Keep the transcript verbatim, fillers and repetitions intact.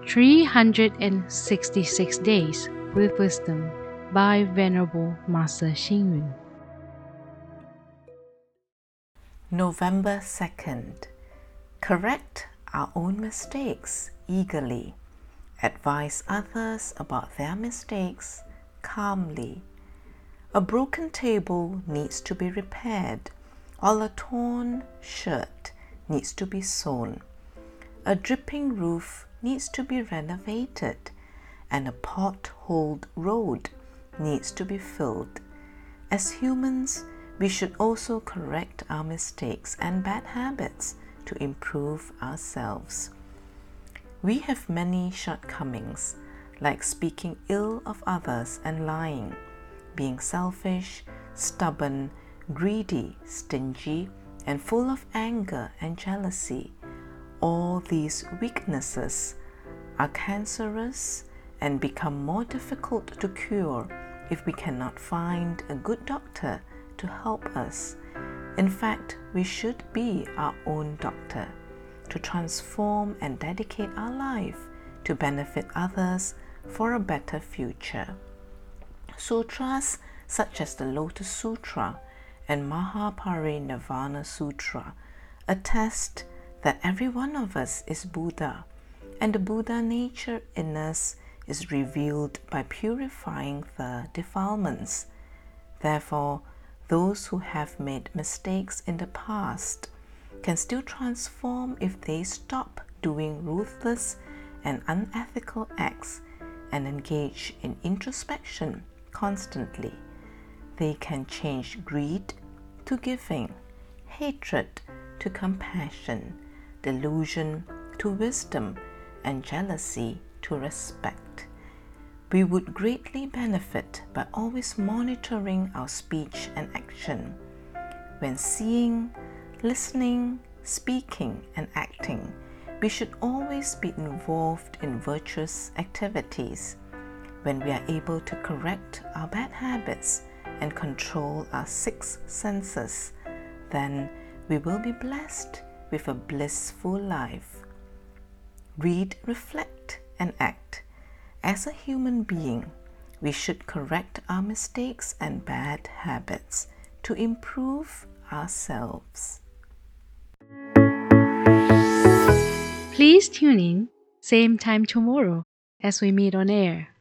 three hundred sixty-six Days with Wisdom by Venerable Master Xing Yun. November second. Correct our own mistakes eagerly. Advise others about their mistakes calmly. A broken table needs to be repaired, while a torn shirt needs to be sewn. A dripping roof needs to be renovated, and a potholed road needs to be filled. As humans, we should also correct our mistakes and bad habits to improve ourselves. We have many shortcomings, like speaking ill of others and lying, being selfish, stubborn, greedy, stingy, and full of anger and jealousy. All these weaknesses are cancerous and become more difficult to cure if we cannot find a good doctor to help us. In fact, we should be our own doctor, to transform and dedicate our life to benefit others for a better future. Sutras such as the Lotus Sutra and Mahaparinirvana Sutra attest that every one of us is Buddha, and the Buddha nature in us is revealed by purifying the defilements. Therefore, those who have made mistakes in the past can still transform if they stop doing ruthless and unethical acts and engage in introspection constantly. They can change greed to giving, hatred to compassion, delusion to wisdom, and jealousy to respect. We would greatly benefit by always monitoring our speech and action. When seeing, listening, speaking, and acting, we should always be involved in virtuous activities. When we are able to correct our bad habits and control our six senses, then we will be blessed with a blissful life. Read, reflect, and act. As a human being, we should correct our mistakes and bad habits to improve ourselves. Please tune in, same time tomorrow as we meet on air.